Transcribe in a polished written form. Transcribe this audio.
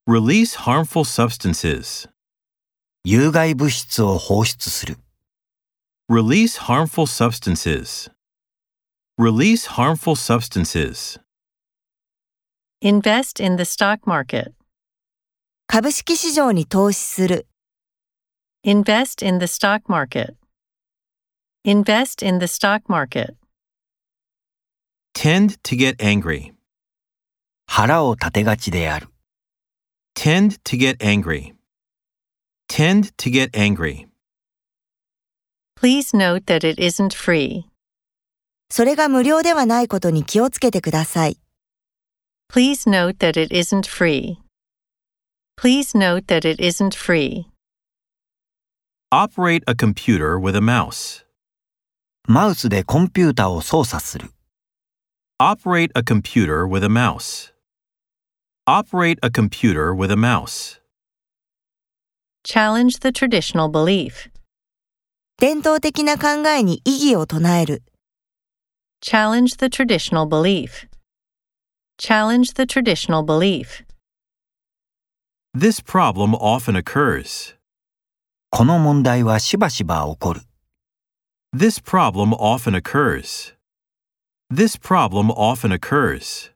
Release harmful substances. 有害物質を放出する。 Release harmful substances. Release harmful substances. Invest in the stock market. 株式市場に投資する。 Invest in the stock market. Invest in the stock market. Tend to get angry. 腹を立てがちである。 Tend to get angry. Tend to get angry. Please note that it isn't free. それが無料ではないことに気をつけてください。 Please note that it isn't free. Please note that it isn't free. Operate a computer with a mouse. マウスでコンピュータを操作する。 Operate a computer with a mouse. Operate a computer with a mouse. Challenge the traditional belief. 伝統的な考えに異議を唱える。 Challenge the traditional belief. Challenge the traditional belief. This problem often occurs. この問題はしばしば起こる。 This problem often occurs. This problem often occurs.